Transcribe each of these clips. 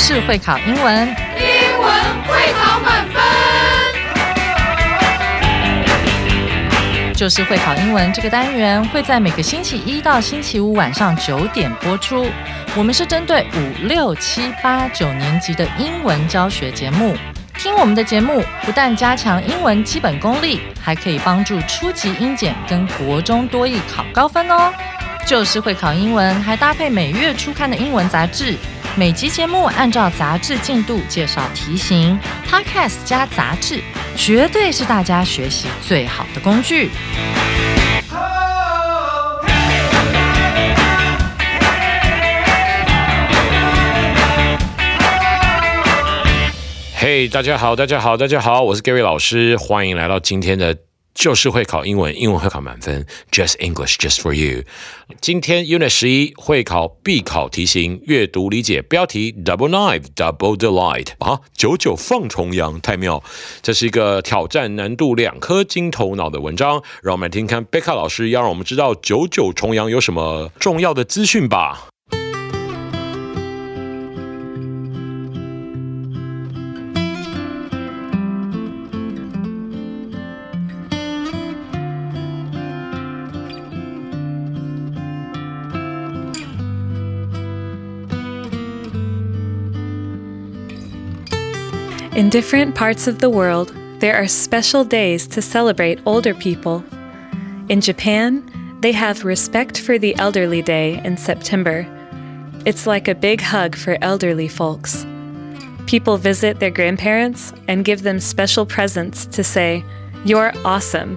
就是会考英文， 英文会考满分。 就是会考英文这个单元会在每个星期一到星期五晚上9点播出。我们是针对5、6、7、8、9年级的英文教学节目。听我们的节目，不但加强英文基本功力，还可以帮助初级英检跟国中多益考高分哦。就是会考英文，还搭配每月初刊的英文杂志。每集节目按照杂志进度介绍题型 ，Podcast 加杂志，绝对是大家学习最好的工具。 嘿、大家好，我是 Gary 老师，欢迎来到今天的就是会考英文，英文会考满分 ，Just English Just for you。今天 Unit 11会考必考题型，阅读理解标题 Double Knife Double Delight 啊，99放重阳，太妙！这是一个挑战难度2颗金头脑的文章，让我们来听看贝卡老师要让我们知道99重阳有什么重要的资讯吧。 In different parts of the world, there are special days to celebrate older people. In Japan, they have Respect for the Elderly Day in September. It's like a big hug for elderly folks. People visit their grandparents and give them special presents to say, "You're awesome."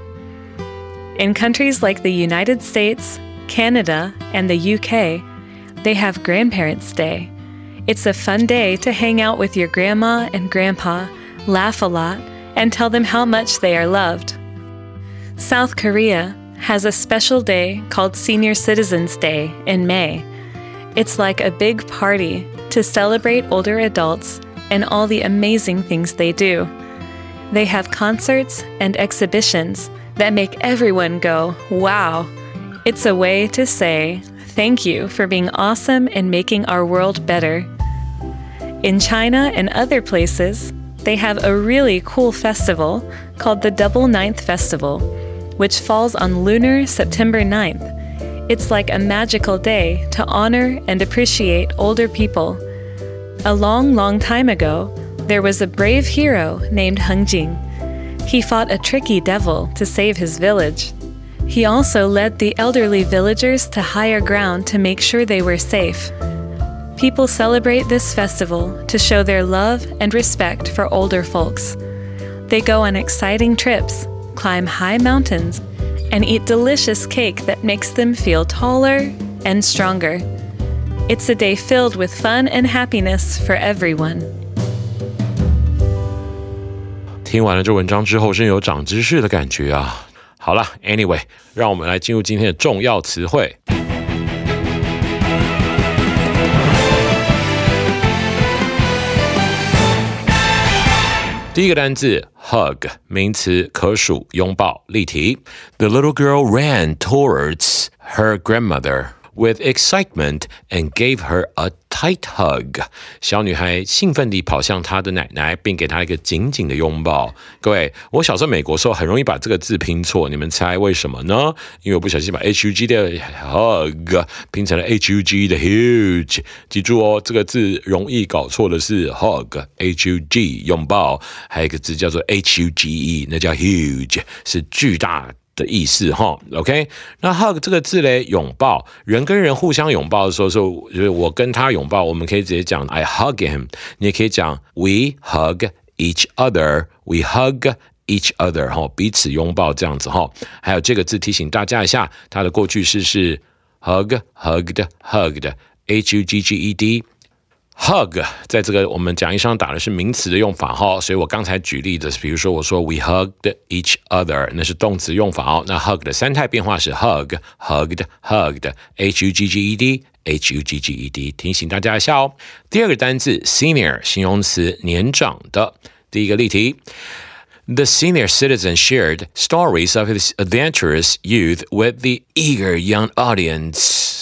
In countries like the United States, Canada, and the UK, they have Grandparents' Day.It's a fun day to hang out with your grandma and grandpa, laugh a lot, and tell them how much they are loved. South Korea has a special day called Senior Citizens Day in May. It's like a big party to celebrate older adults and all the amazing things they do. They have concerts and exhibitions that make everyone go, wow. It's a way to say,Thank you for being awesome and making our world better. In China and other places, they have a really cool festival called the Double Ninth Festival, which falls on lunar September 9th. It's like a magical day to honor and appreciate older people. A long, long time ago, there was a brave hero named Heng Jing. He fought a tricky devil to save his village.He also led the elderly villagers to higher ground to make sure they were safe. People celebrate this festival to show their love and respect for older folks. They go on exciting trips, climb high mountains, and eat delicious cake that makes them feel taller and stronger. It's a day filled with fun and happiness for everyone. 听完了这文章之后，真有长知识的感觉啊！好了 ，Anyway， 让我们来进入今天的重要词汇。第一个单字 hug 名词，可数，拥抱，例题。The little girl ran towards her grandmother.With excitement and gave her a tight hug. 小女孩兴奋地跑向她的奶奶，并给她一个紧紧的拥抱。各位，我小时候美国的时候很容易把这个字拼错，你们猜为什么呢？因为我不小心把 HUG 的 hug 拼成了 HUG 的 huge。记住哦，这个字容易搞错的是 hug HUG 拥抱，还有一个字叫做 HUGE， 那叫 huge， 是巨大的意思哈 ，OK？ 那 hug 这个字嘞，拥抱，人跟人互相拥抱的时候，就是我跟他拥抱，我们可以直接讲 I hug him， 你也可以讲 We hug each other，We hug each other 哈，彼此拥抱这样子哈。还有这个字提醒大家一下，它的过去式是 hug，hugged，hugged。Hug 在这个我们讲义上打的是名词的用法哈，所以我刚才举例的，比如说我说 We hugged each other， 那是动词用法哦。那 hug 的三态变化是 hug，hugged，hugged，hugged，提醒大家一下哦。第二个单字 senior 形容词，年长的。第一个例题。The senior citizen shared stories of his adventurous youth with the eager young audience.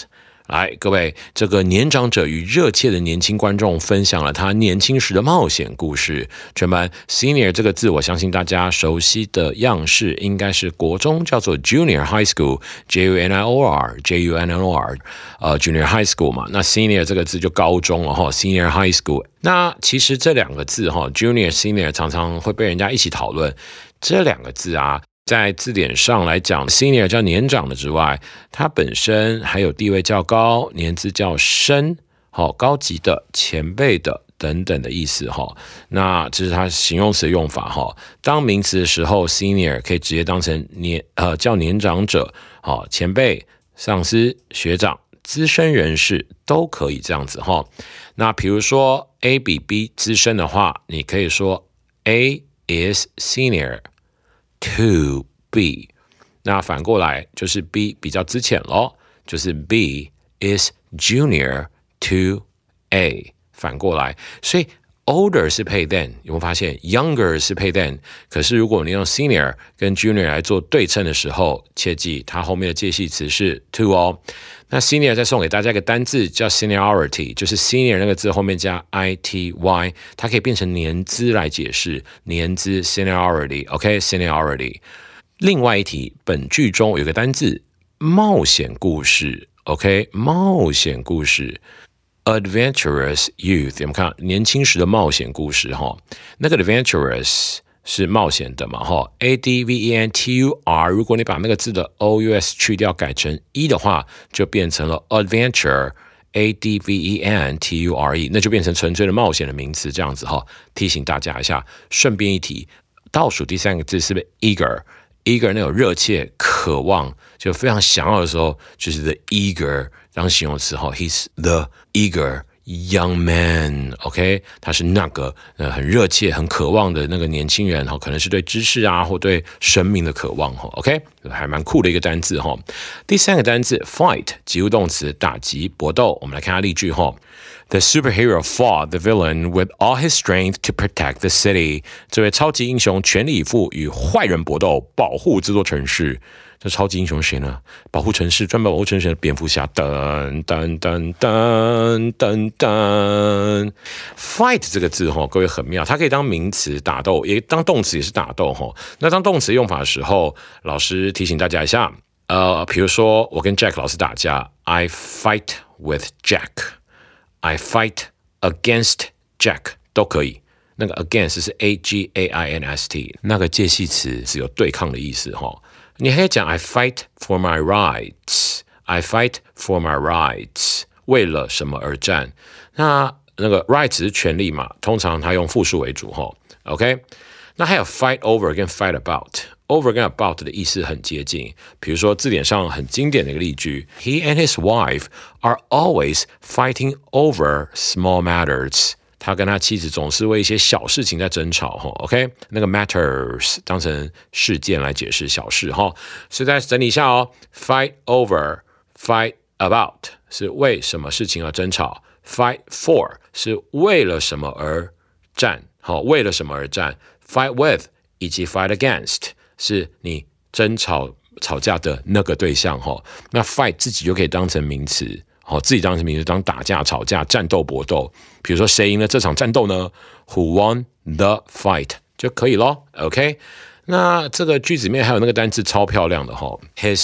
来，各位，这个年长者与热切的年轻观众分享了他年轻时的冒险故事。全班 senior 这个字，我相信大家熟悉的样式应该是国中叫做 junior high school JUNIOR junior high school 嘛。那 senior 这个字就高中了哈 ，senior high school。那其实这两个字哈 ，junior senior 常常会被人家一起讨论。这两个字啊，在字典上来讲 ，senior 叫年长的之外，它本身还有地位较高、年资较深、高级的、前辈的等等的意思哈。那这是它形容词的用法哈。当名词的时候 ，senior 可以直接当成叫年长者、前辈、上司、学长、资深人士都可以这样子哈。那比如说 A 比 B 资深的话，你可以说 A is senior to B， 那反过来就是 B 比较资浅咯，就是 B is junior to A， 反过来，所以 older 是配 than， 有没有发现 younger 是配 than， 可是如果你用 senior 跟 junior 来做对称的时候，切记它后面的介系词是 to 哦。那 senior 再送给大家一个单字叫 seniority， 就是 senior 那个字后面加 ity， 它可以变成年资来解释，年资 seniority，OK seniority。另外一题，本句中有个单字冒险故事 ，OK 冒险故事 ，adventurous youth， 有没有看年轻时的冒险故事哈？那个 adventurous 是冒险的嘛哈 ，adventur， 如果你把那个字的 ous 去掉改成的话，就变成了 adventure，adventure， 那就变成纯粹的冒险的名词这样子哈。提醒大家一下，顺便一提，倒数第三个字是不是 eager？eager 那种热切、渴望，就非常想要的时候，就是 the eager 当形容词哈 ，he's the eager young man， OK， 他是那个很热切、很渴望的那个年轻人哈，可能是对知识啊或对生命的渴望哈 ，OK， 还蛮酷的一个单字哈。第三个单字 fight 及物动词，打击、搏斗，我们来看下例句哈。The superhero fought the villain with all his strength to protect the city. 这位超级英雄全力以赴与坏人搏斗，保护这座城市。这超级英雄是谁呢？保护城市，专门保护城市的蝙蝠侠。噔噔噔噔噔噔。Fight 这个字哈，各位很妙，它可以当名词打斗，也当动词也是打斗哈。那当动词用法的时候，老师提醒大家一下，比如说我跟 Jack 老师打架 ，I fight with Jack。I fight against Jack 都可以，那个 against 是 against， 那个介系词是有对抗的意思哈。你还可以讲 I fight for my rights，I fight for my rights， 为了什么而战？那个 rights 是权利嘛，通常它用复数为主哈。OK， 那还有 fight over 跟 fight about。Over 跟 about 的意思很接近，比如说字典上很经典的一个例句 ，He and his wife are always fighting over small matters。他跟他妻子总是为一些小事情在争吵哈 ，OK， 那个 matters 当成事件来解释小事哈。所以再整理一下哦 ，fight over、fight about 是为什么事情而争吵 ，fight for 是为了什么而战，好，为了什么而战 ，fight with 以及 fight against。是你争吵架的那个对象哈，那 fight 自己就可以当成名词，自己当成名词当打架、吵架、战斗、搏斗。比如说谁赢了这场战斗呢 ？Who won the fight 就可以咯 OK， 那这个句子里面还有那个单字超漂亮的哈 ，his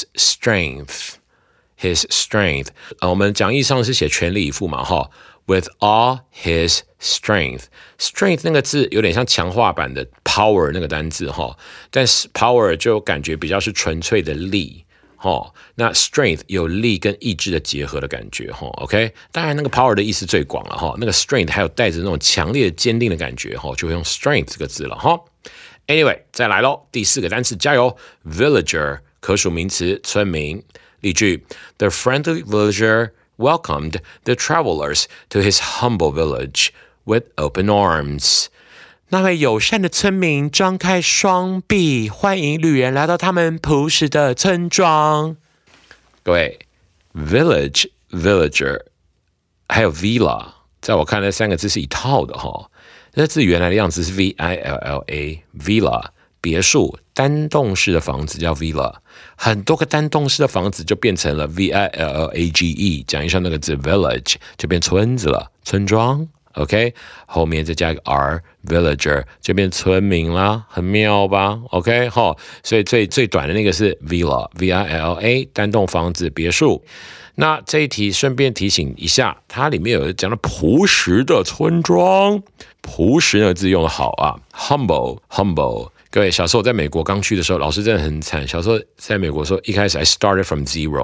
strength，his strength。我们讲义上是写全力以赴嘛哈。With all his strength， strength 那个字有点像强化版的 power 那个单字哈，但是 power 就感觉比较是纯粹的力哈，那 strength 有力跟意志的结合的感觉哈 ，OK， 当然那个 power 的意思最广了哈，那个 strength 还有带着那种强烈坚定的感觉哈，就会用 strength 这个字了哈。Anyway， 再来咯，第四个单词加油 ，villager 可数名词，村民。例句 ：The friendly villager welcomed the travelers to his humble village with open arms. 那位友善的村民张开双臂，欢迎旅人来到他们朴实的村庄。各位 ，village、villager 还有 villa， 在我看来三个字是一套的哈。这字原来的样子是 villa，villa， 别墅单栋式的房子叫 villa， 很多个单栋式的房子就变成了 village， 讲一下那个字 village 就变村子了，村庄。OK， 后面再加一个 r villager 就变村民啦，很妙吧 ？OK， 所以最短的那个是 villa villa 单栋房子别墅。那这一题顺便提醒一下，它里面有讲到朴实的村庄，朴实那个字用得好啊 ，humble。各位，小时候我在美国刚去的时候，老师真的很惨。小时候在美国的时候，一开始 I started from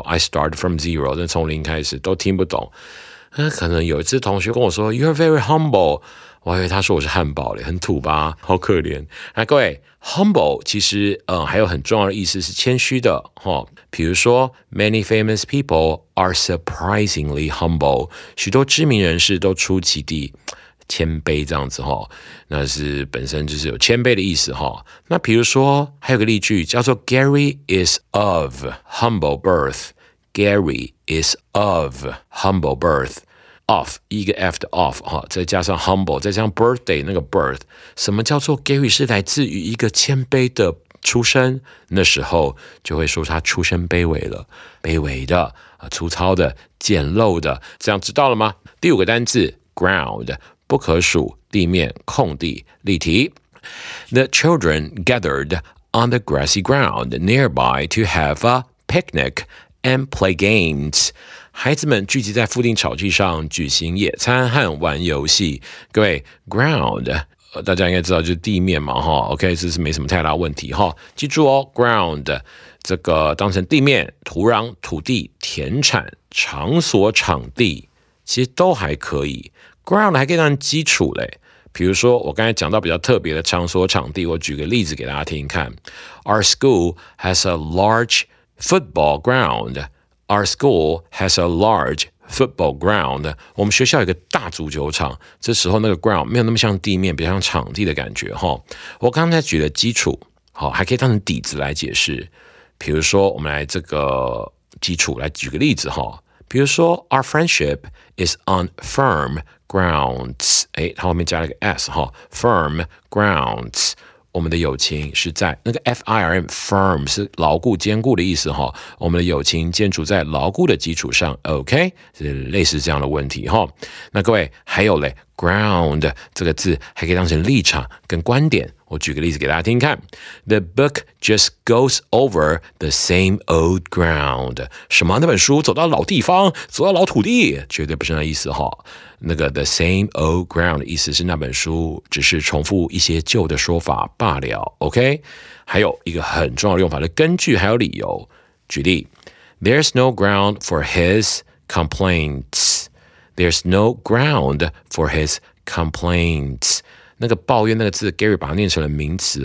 zero， 真的从零开始都听不懂。可能有一次同学跟我说 You're very humble， 我还以为他说我是汉堡嘞，很土吧，好可怜。那各位 humble 其实还有很重要的意思是谦虚的比如说 Many famous people are surprisingly humble， 许多知名人士都出奇地谦卑这样子那是本身就是有谦卑的意思那比如说还有个例句叫做 Gary is of humble birth。Gary is of humble birth， of 一个 F 的 of 再加上 humble， 再加上 birthday 那个 birth， 什么叫做 Gary 是来自于一个谦卑的出身？那时候就会说他出身卑微了，卑微的、粗糙的、简陋的，这样知道了吗？第5个单字 ground， 不可数，地面、空地、例题。The children gathered on the grassy ground nearby to have a picnic。And play games， 孩子们聚集在附近草地上举行野餐和玩游戏。各位 ，ground 大家应该知道就是地面嘛，OK， 这是没什么太大问题记住ground 这个当成地面、土壤、土地、田产、场所、场地，其实都还可以。ground 还可以当成基础嘞。比如说，我刚才讲到比较特别的场所、场地，我举个例子给大家听看。Our school has a large football ground. Our school has a large football ground. 我们学校有一个大足球场，这时候那个 ground 没有那么像地面，比较像场地的感觉我刚才举了基础，还可以当成底子来解释。比如说，我们来这个基础来举个例子比如说 Our friendship is on firm grounds. 它后面加了个 s firm grounds。我们的友情是在那个 firm firm 是牢固坚固的意思我们的友情建筑在牢固的基础上 OK 是类似这样的问题那各位还有嘞 ground 这个字还可以当成立场跟观点，我举个例子给大家听看。The book just goes over the same old ground。 什么？那本书走到老地方，走到老土地，绝对不是那意思那个 the same old ground 的意思是那本书只是重复一些旧的说法罢了 OK。 还有一个很重要的用法的根据还有理由。举例 There's no ground for his complaints。 There's no ground for his complaints。 那个抱怨那个字 Gary 把它念成了名词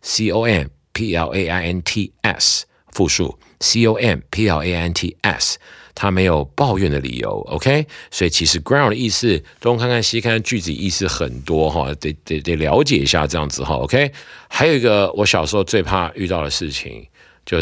complaints 复数 complaints， 它没有抱怨的理由 OK。 所以其实 ground 的意思东看看西看，句子意思很多得了解一下这样子OK。 还有一个我小时候最怕遇到的事情就是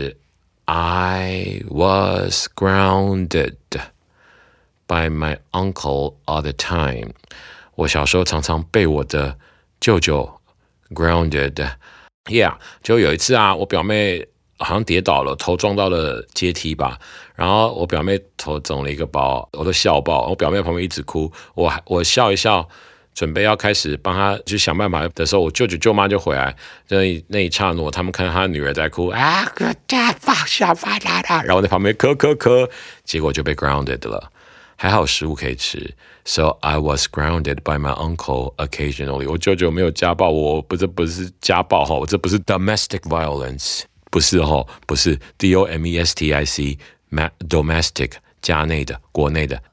I was grounded by my uncle all the time。 我小时候常常被我的舅舅 grounded。 就有一次我表妹好像跌倒了，头撞到了阶梯吧，然后我表妹头肿了一个包，我都笑爆。我表妹旁边一直哭，我笑一笑，准备要开始帮她就想办法的时候，我舅舅舅妈就回来，那一刹那他们看到他女儿在哭放下吧，然后在旁边咳，结果就被 grounded 了。还好食物可以吃 ，So I was grounded by my uncle occasionally。 我舅舅没有家暴我，这不是家暴这不是 domestic violence， 不是不是 domestic domestic 家内的国内的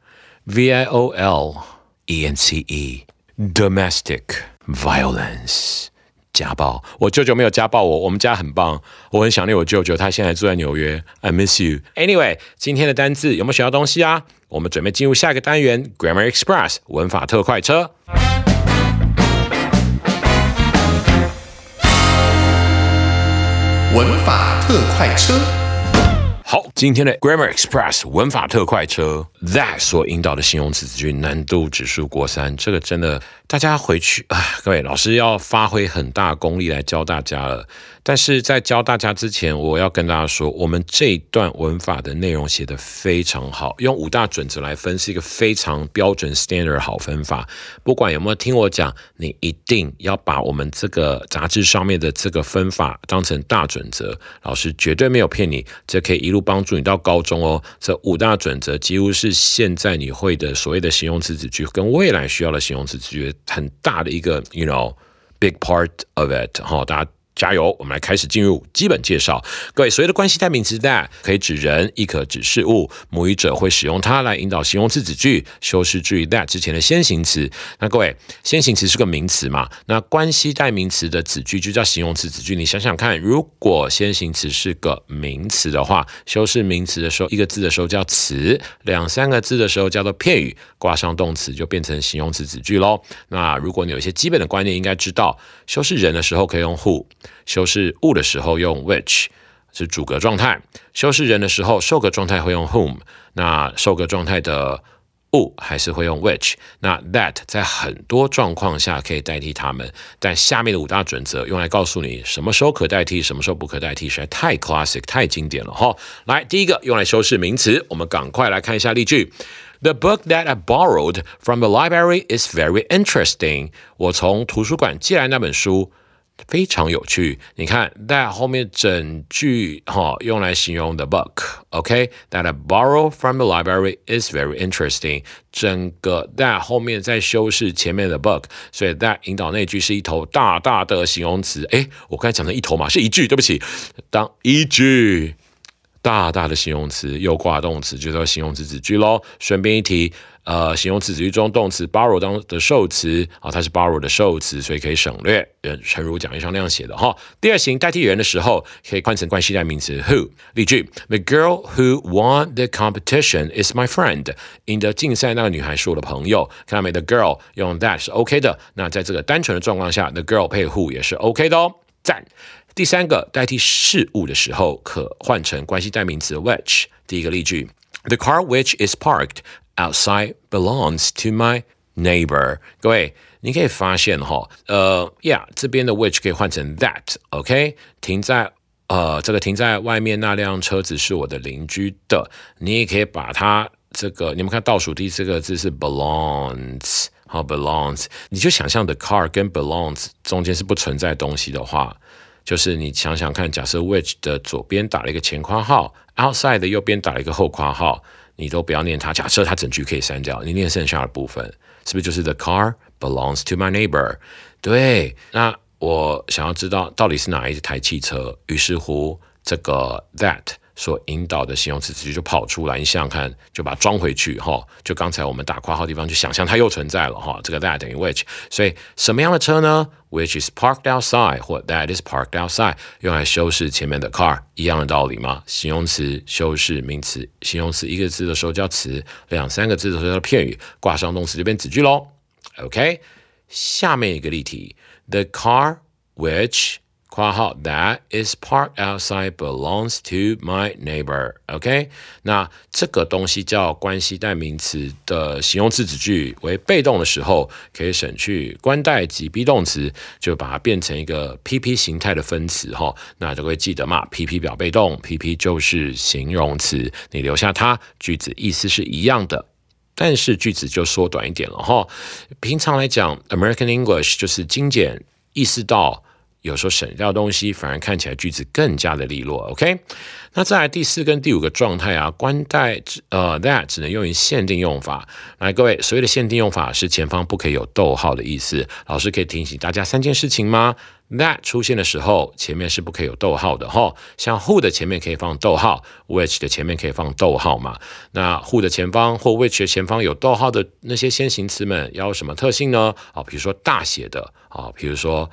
violence domestic violence 家暴。我舅舅没有家暴我们家很棒，我很想念我舅舅，他现在住在纽约 I miss you。 Anyway， 今天的单字有没有学到东西啊？我们准备进入下一个单元 Grammar Express 文法特快车。 文法特快车。 好， 今天的 Grammar Express 文法特快车 that 所引导的形容词子句难度指数过3，这个真的大家回去各位老师要发挥很大功力来教大家了。但是在教大家之前，我要跟大家说，我们这一段文法的内容写得非常好，用5大准则来分是一个非常标准 standard 好分法。不管有没有听我讲，你一定要把我们这个杂志上面的这个分法当成大准则，老师绝对没有骗你，这可以一路帮助你到高中哦。这5大准则几乎是现在你会的所谓的形容词子句跟未来需要的形容词子句很大的一个 big part of it 大家加油，我们来开始进入基本介绍。各位，所谓的关系代名词 that 可以指人，亦可指事物，母语者会使用它来引导形容词子句，修饰至于 that 之前的先行词。那各位，先行词是个名词嘛？那关系代名词的子句就叫形容词子句。你想想看，如果先行词是个名词的话，修饰名词的时候，一个字的时候叫词，2、3个字的时候叫做片语，挂上动词就变成形容词子句咯。那如果你有一些基本的观念，应该知道，修饰人的时候可以用 who。修饰物的时候用 which 是主格状态，修饰人的时候受格状态会用 whom， 那受格状态的物还是会用 which， 那 that 在很多状况下可以代替它们，但下面的5大准则用来告诉你什么时候可代替，什么时候不可代替，实在太 classic 太经典了来，第一个用来修饰名词，我们赶快来看一下例句。The book that I borrowed from the library is very interesting。 我从图书馆借来那本书非常有趣。你看 that 后面整句用来形容 the book OK that I borrow from the library is very interesting， 整个 that 后面再修饰前面的 book， 所以 that 引导那句是一头大大的形容词。我刚才讲成一头嘛，是一句，对不起，当一句大大的形容词又挂动词就叫形容词子句咯。顺便一提形容词子句中动词 borrow 当的受词它是 borrow 的受词，所以可以省略，诚如讲义上那样写的第二型代替人的时候可以换成关系代名词 who。 例句 The girl who won the competition is my friend。 赢得竞赛那个女孩是我的朋友。看到没？ The girl 用 that 是 OK 的，那在这个单纯的状况下 The girl 配 who 也是 OK 的赞。第3个代替事物的时候可换成关系代名词 which。 第一个例句 The car which is parked outside belongs to my neighbor。 各位你可以发现这边的 which 可以换成 that OK， 停在外面那辆车子是我的邻居的。你也可以把它你们看倒数第4个字是 belongs belongs， 你就想象的 car 跟 belongs 中间是不存在东西的话，就是你想想看，假设 which 的左边打了一个前括号， outside 的右边打了一个后括号，你都不要念它，假设它整句可以删掉，你念剩下的部分，是不是就是 The car belongs to my neighbor？ 对，那我想要知道到底是哪一台汽车，于是乎这个 that 所引导的形容词子句就跑出来，你想想看，就把它装回去就刚才我们打括号的地方去想象它又存在了这个 that 等于 which， 所以什么样的车呢？ Which is parked outside 或 that is parked outside 用来修饰前面的 car， 一样的道理吗？形容词修饰名词，形容词一个字的时候叫词，2、3个字的时候叫片语，挂上动词就变子句咯 OK， 下面一个例题 The car which括号 that is parked outside belongs to my neighbor OK， 那这个东西叫关系代名词的形容词子句为被动的时候，可以省去关代及 be 动词，就把它变成一个 PP 形态的分词那就会记得嘛， PP 表被动， PP 就是形容词，你留下它，句子意思是一样的，但是句子就缩短一点了平常来讲 American English 就是精简，意识到有时候省掉东西，反而看起来句子更加的利落 OK。 那再来第4跟第5个状态关代that 只能用于限定用法。来，各位，所谓的限定用法是前方不可以有逗号的意思。老师可以提醒大家3件事情吗？ that 出现的时候前面是不可以有逗号的像 who 的前面可以放逗号， which 的前面可以放逗号嘛。那 who 的前方或 which 的前方有逗号的那些先行词们要有什么特性呢？比如说大写的好，比如说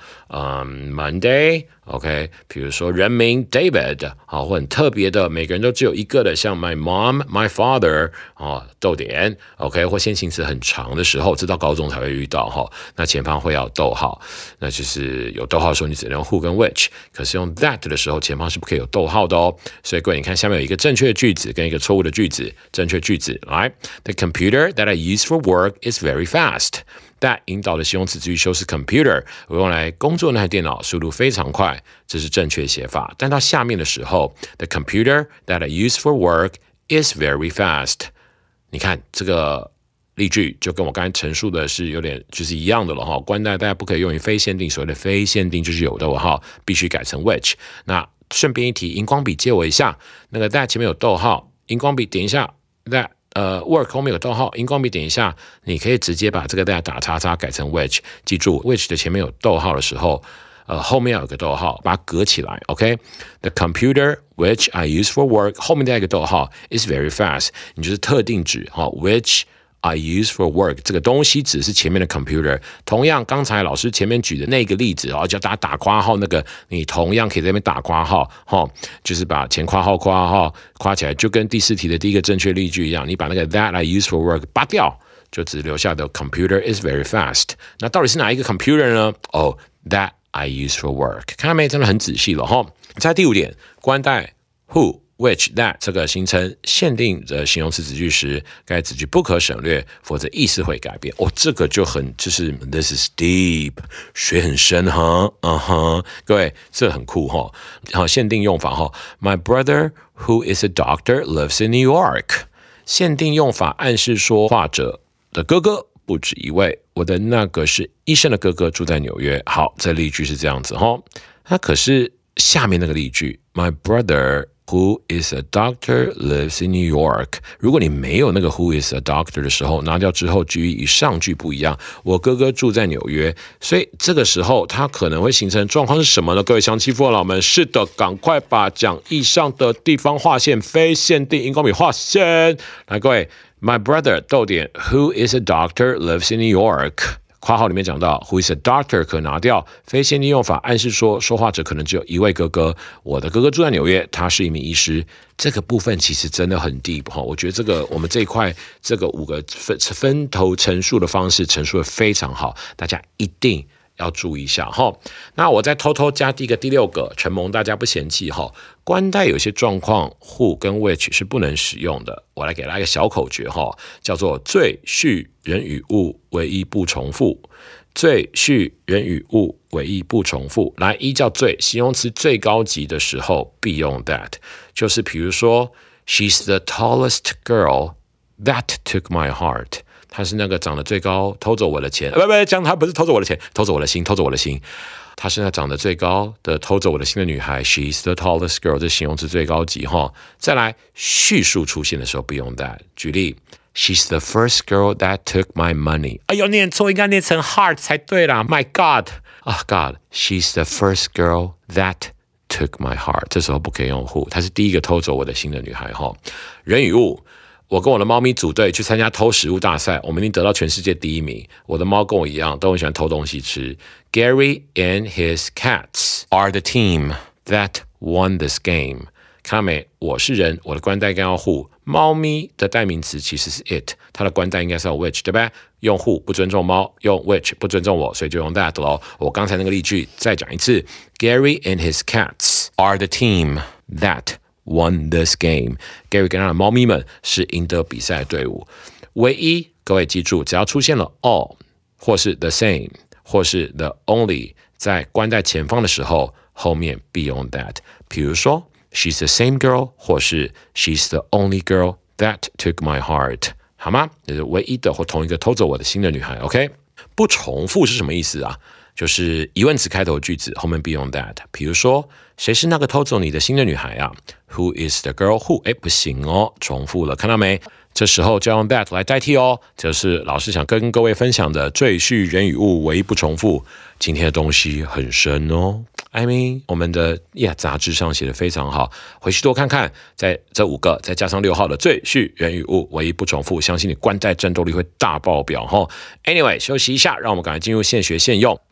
Monday OK， 比如说人名 David 好，或很特别的每个人都只有一个的，像 my mom my father 逗点 OK， 或先行词很长的时候，直到高中才会遇到那前方会要逗号，那就是有逗号的时候你只能用 who 跟 which， 可是用 that 的时候前方是不可以有逗号的哦。所以各位你看下面有一个正确的句子跟一个错误的句子，正确句子来 The computer that I use for work is very fast。that 引导的形容词至于修饰 computer， 我用来工作那台电脑速度非常快，这是正确写法。但到下面的时候 The computer that I use for work is very fast。 你看这个例句就跟我刚才陈述的是有点就是一样的了关代大家不可以用于非限定，所谓的非限定就是有的必须改成 which。 那顺便一提，荧光笔借我一下，那个 that 前面有逗号，荧光笔点一下 that work 后面有逗号，荧光笔点一下，你可以直接把这个 that 打叉叉改成 which。 记住 which 的前面有逗号的时候后面要有个逗号，把它隔起来 OK。 The computer which I use for work 后面再一个逗号 is very fast， 你就是特定指which I use for work 这个东西指是前面的 computer。 同样刚才老师前面举的那个例子叫大家打括号那个，你同样可以在那边打括号就是把前括号括号括起来，就跟第4题的第一个正确例句一样，你把那个 that I use for work 拔掉，就只留下的 computer is very fast。 那到底是哪一个 computer 呢that I use for work， 看到没，真的很仔细了在第5点，关代 who which that 这个形成限定的形容词子句时，该子句不可省略，否则意思会改变这个就很就是 this is deep， 水很深各位这很酷限定用法My brother who is a doctor lives in New York。 限定用法暗示说话者的哥哥不止一位，我的那个是医生的哥哥住在纽约。好，这例句是这样子那可是下面那个例句 My brother who is a doctor lives in New York， 如果你没有那个 who is a doctor 的时候，拿掉之后句与上句不一样，我哥哥住在纽约，所以这个时候它可能会形成状况是什么呢？各位乡亲父老们，是的，赶快把讲义上的地方划线，非限定荧光笔划线。来，各位 My brother 逗点 who is a doctor lives in New York，括号里面讲到 who is a doctor 可拿掉，非限定用法暗示说说话者可能只有一位哥哥，我的哥哥住在纽约，他是一名医师。这个部分其实真的很 deep 我觉得这个我们这一块这个5个分头陈述的方式陈述的非常好，大家一定要注意一下那我再偷偷加第6个，承蒙大家不嫌弃关代有些状况 who 跟 which 是不能使用的，我来给大家一个小口诀叫做最序人与物唯一不重复。最序人与物唯一不重复，来依照最形容词最高级的时候必用 that， 就是比如说 She's the tallest girl that took my heart，她是那个长得最高偷走我的钱，讲她不是偷走我的钱，偷走我的心，偷走我的心。她是那长得最高的偷走我的心的女孩 She's the tallest girl， 这形容词最高级再来叙述出现的时候不用 that， 举例 She's the first girl that took my money， 哎呦念错，应该念成 heart 才对啦 My God God She's the first girl that took my heart， 这时候不可以用 who， 她是第一个偷走我的心的女孩人与物，我跟我的猫咪组队去参加偷食物大赛，我们已经得到全世界第1名。我的猫跟我一样，都很喜欢偷东西吃。Gary and his cats are the team that won this game。看到没？我是人，我的关代跟要 who， 猫咪的代名词其实是 it， 它的关代应该是要 which， 对不对？用 who 不尊重猫，用 which 不尊重我，所以就用 that 咯。我刚才那个例句再讲一次 ，Gary and his cats are the team that won this game。 Gary 跟他的猫咪们是赢得比赛的队伍。唯一，各位记住，只要出现了 all 或是 the same 或是 the only， 在关代前方的时候，后面必用 that。比如说 She's the same girl 或是 She's the only girl that took my heart， 好吗？就是唯一的或同一个偷走我的心的女孩 OK。 不重复是什么意思啊？就是疑问词开头的句子后面必用 that。 比如说谁是那个偷走你的心的女孩啊？ Who is the girl who？ 不行重复了，看到没？这时候就要用 that 来代替这是老师想跟各位分享的赘婿人与物唯一不重复。今天的东西很深I mean 我们的杂志上写的非常好，回去多看看，在这5个再加上6号的赘婿人与物唯一不重复，相信你关代战斗力会大爆表Anyway 休息一下，让我们赶快进入现学现用。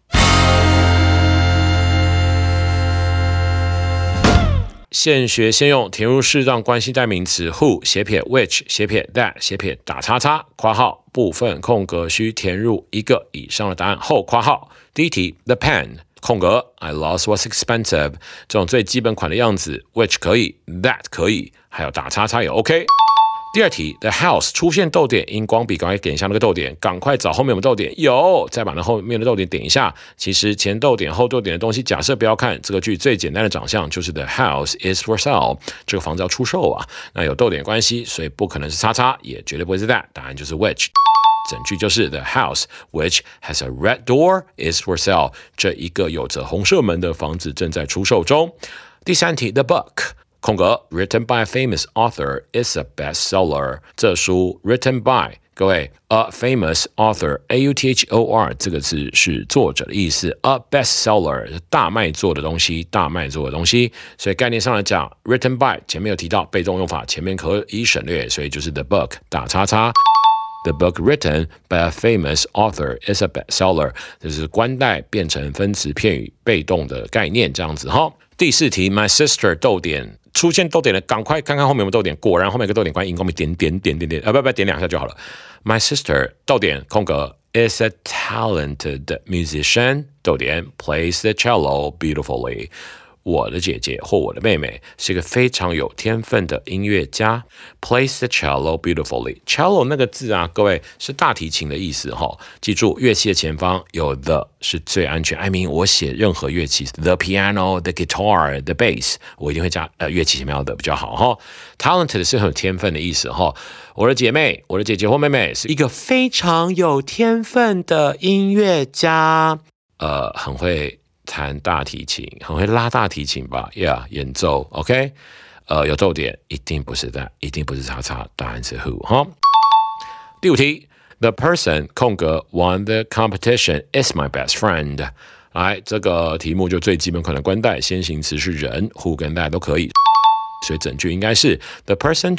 现学现用，填入适当关系代名词 who 斜撇 which 斜撇 that 斜撇打叉叉括号部分空格需填入一个以上的答案后括号。第一题 The pen 空格 I lost was expensive 这种最基本款的样子 which 可以 that 可以还有打叉叉也 OK。第二题 The house 出现逗点，荧光笔赶快点一下那个逗点，赶快找后面有没有逗点，有，再把那后面的逗点点一下。其实前逗点后逗点的东西假设不要看，这个句最简单的长相就是 The house is for sale 这个房子要出售啊，那有逗点关系，所以不可能是叉叉，也绝对不会是 that， 答案就是 which。整句就是 The house which has a red door is for sale 这一个有着红色门的房子正在出售中。第三题 The book空格 written by a famous author is a bestseller 这书 written by 各位 a famous author A-U-T-H-O-R 这个字是作者的意思 a bestseller 是大卖座的东西，大卖座的东西，所以概念上来讲 written by 前面有提到被动用法，前面可以省略，所以就是 the book 打叉叉。The book written by a famous author is a bestseller 这是关代变成分词片语被动的概念这样子哈。第四题 My sister 逗点出现逗点的赶快看看后面有没有逗点，果然后面有个逗点关，荧光笔点不点两下就好了。My sister 逗点空格 is a talented musician 逗点 plays the cello beautifully我的姐姐或我的妹妹是一个非常有天分的音乐家 plays the cello beautifully cello 那个字啊各位是大提琴的意思记住乐器的前方有 the 是最安全I mean 我写任何乐器 the piano the guitar the bass 我一定会加乐器前面要的比较好talented 是很有天分的意思我的姐妹我的姐姐或妹妹是一个非常有天分的音乐家很会弹大提琴，很会拉大提琴吧 ？Yeah， 演奏 ，OK， 有逗点，一定不是 that， 一定不是叉叉，答案是 who 第五题 ，The person 空格 won the competition is my best friend。来，这个题目就最基本款的关代，先行词是人 ，who 跟 that 都可以。所以整句应该是 the person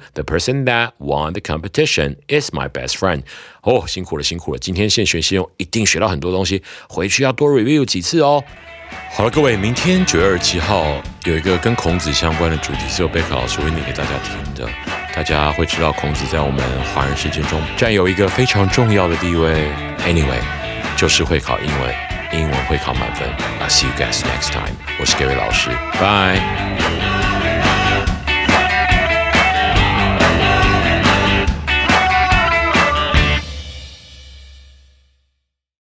that won the competition is my best friend 辛苦了今天现学现用一定学到很多东西回去要多 review 几次好了各位明天9月27号有一个跟孔子相关的主题是由贝克老师会念给大家听的大家会知道孔子在我们华人世界中占有一个非常重要的地位 Anyway 就是会考英文会考满分I'll see you guys next time 我是 Gary 老师 Bye